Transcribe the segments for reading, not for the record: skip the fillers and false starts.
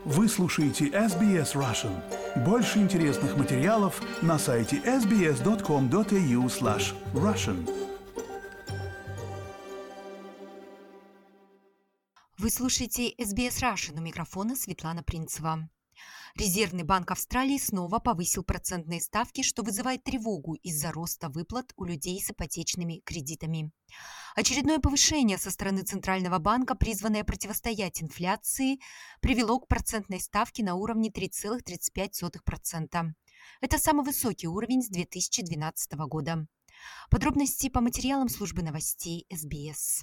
Вы слушаете SBS Russian. Больше интересных материалов на сайте sbs.com.au/russian. Вы слушаете SBS Russian, у микрофона Светлана Принцева. Резервный банк Австралии снова повысил процентные ставки, что вызывает тревогу из-за роста выплат у людей с ипотечными кредитами. Очередное повышение со стороны Центрального банка, призванное противостоять инфляции, привело к процентной ставке на уровне 3,35%. Это самый высокий уровень с 2012 года. Подробности по материалам службы новостей SBS.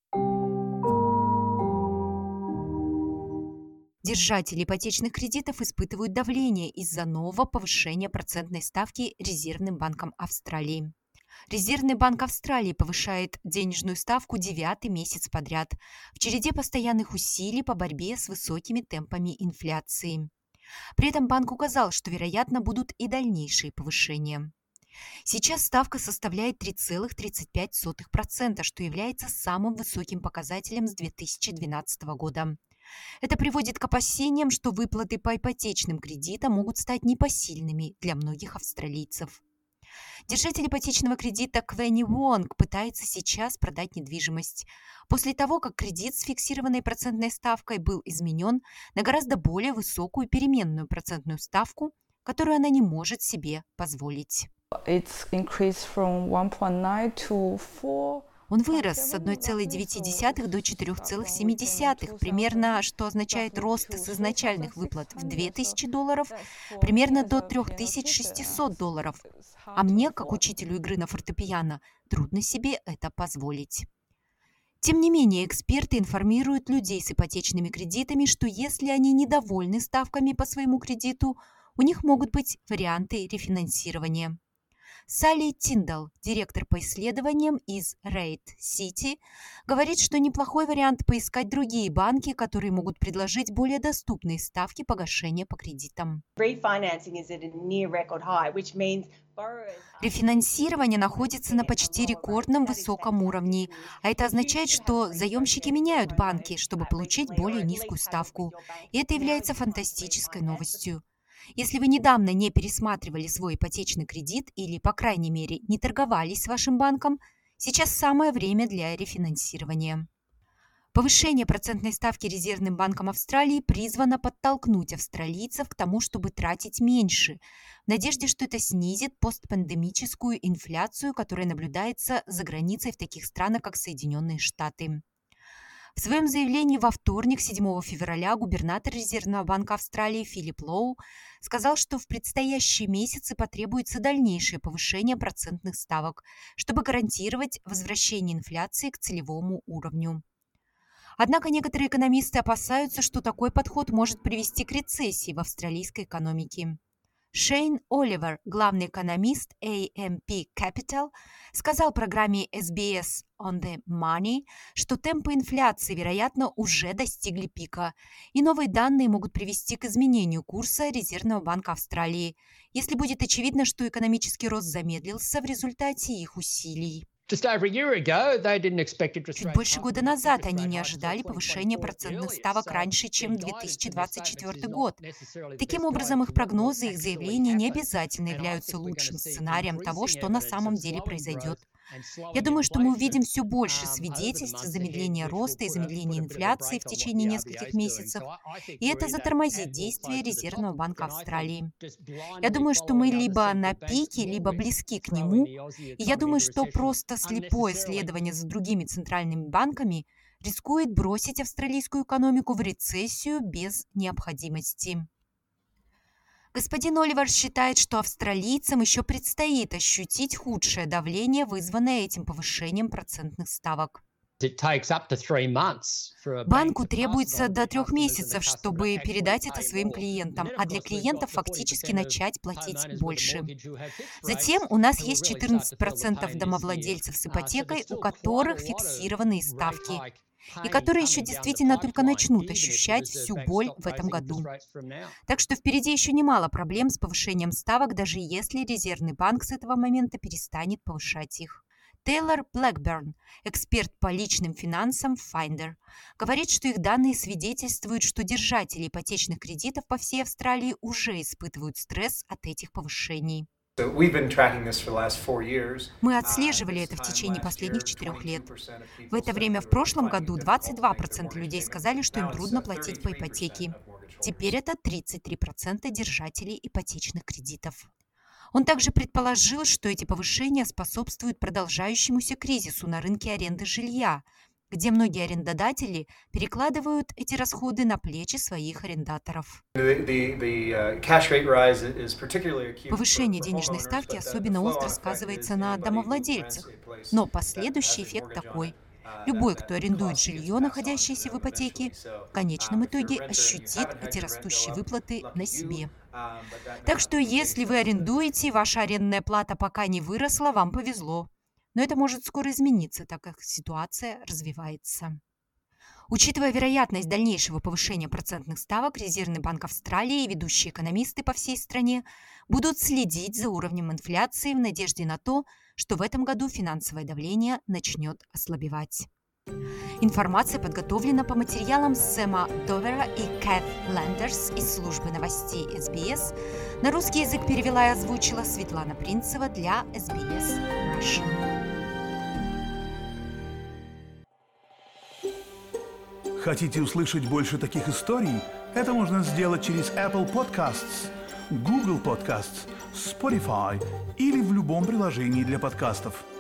Держатели ипотечных кредитов испытывают давление из-за нового повышения процентной ставки Резервным банком Австралии. Резервный банк Австралии повышает денежную ставку 9-й месяц подряд в череде постоянных усилий по борьбе с высокими темпами инфляции. При этом банк указал, что, вероятно, будут и дальнейшие повышения. Сейчас ставка составляет 3,35%, что является самым высоким показателем с 2012 года. Это приводит к опасениям, что выплаты по ипотечным кредитам могут стать непосильными для многих австралийцев. Держатель ипотечного кредита Квенни Вонг пытается сейчас продать недвижимость после того, как кредит с фиксированной процентной ставкой был изменен на гораздо более высокую переменную процентную ставку, которую она не может себе позволить. Он вырос с 1,9 до 4,7, примерно, что означает рост с изначальных выплат в $2000, примерно до $3600. А мне, как учителю игры на фортепиано, трудно себе это позволить. Тем не менее, эксперты информируют людей с ипотечными кредитами, что если они недовольны ставками по своему кредиту, у них могут быть варианты рефинансирования. Салли Тиндал, директор по исследованиям из Рейд Сити, говорит, что неплохой вариант поискать другие банки, которые могут предложить более доступные ставки погашения по кредитам. Рефинансирование находится на почти рекордном высоком уровне, а это означает, что заемщики меняют банки, чтобы получить более низкую ставку. И это является фантастической новостью. Если вы недавно не пересматривали свой ипотечный кредит или, по крайней мере, не торговались с вашим банком, сейчас самое время для рефинансирования. Повышение процентной ставки Резервным банком Австралии призвано подтолкнуть австралийцев к тому, чтобы тратить меньше, в надежде, что это снизит постпандемическую инфляцию, которая наблюдается за границей в таких странах, как Соединенные Штаты. В своем заявлении во вторник, 7 февраля, губернатор Резервного банка Австралии Филипп Лоу сказал, что в предстоящие месяцы потребуется дальнейшее повышение процентных ставок, чтобы гарантировать возвращение инфляции к целевому уровню. Однако некоторые экономисты опасаются, что такой подход может привести к рецессии в австралийской экономике. Шейн Оливер, главный экономист AMP Capital, сказал программе SBS On the Money, что темпы инфляции, вероятно, уже достигли пика, и новые данные могут привести к изменению курса Резервного банка Австралии, если будет очевидно, что экономический рост замедлился в результате их усилий. Чуть больше года назад они не ожидали повышения процентных ставок раньше, чем 2024 год. Таким образом, их прогнозы и их заявления не обязательно являются лучшим сценарием того, что на самом деле произойдет. Я думаю, что мы увидим все больше свидетельств замедления роста и замедления инфляции в течение нескольких месяцев, и это затормозит действия Резервного банка Австралии. Я думаю, что мы либо на пике, либо близки к нему, и я думаю, что просто слепое следование за другими центральными банками рискует бросить австралийскую экономику в рецессию без необходимости. Господин Оливер считает, что австралийцам еще предстоит ощутить худшее давление, вызванное этим повышением процентных ставок. Банку требуется до 3 месяцев, чтобы передать это своим клиентам, а для клиентов фактически начать платить больше. Затем у нас есть 14% домовладельцев с ипотекой, у которых фиксированные ставки, и которые еще действительно только начнут ощущать всю боль в этом году. Так что впереди еще немало проблем с повышением ставок, даже если Резервный банк с этого момента перестанет повышать их. Тейлор Блэкберн, эксперт по личным финансам в Finder, говорит, что их данные свидетельствуют, что держатели ипотечных кредитов по всей Австралии уже испытывают стресс от этих повышений. Мы отслеживали это в течение последних 4 лет. В это время в прошлом году 22% людей сказали, что им трудно платить по ипотеке. Теперь это 33% держателей ипотечных кредитов. Он также предположил, что эти повышения способствуют продолжающемуся кризису на рынке аренды жилья, где многие арендодатели перекладывают эти расходы на плечи своих арендаторов. Повышение денежной ставки особенно остро сказывается на домовладельцах, но последующий эффект такой. Любой, кто арендует жилье, находящееся в ипотеке, в конечном итоге ощутит эти растущие выплаты на себе. Так что если вы арендуете, ваша арендная плата пока не выросла, вам повезло. Но это может скоро измениться, так как ситуация развивается. Учитывая вероятность дальнейшего повышения процентных ставок, Резервный банк Австралии и ведущие экономисты по всей стране будут следить за уровнем инфляции в надежде на то, что в этом году финансовое давление начнет ослабевать. Информация подготовлена по материалам Сэма Довера и Кэт Лендерс из службы новостей SBS. На русский язык перевела и озвучила Светлана Принцева для SBS Russian. Хотите услышать больше таких историй? Это можно сделать через Apple Podcasts, Google Podcasts, Spotify или в любом приложении для подкастов.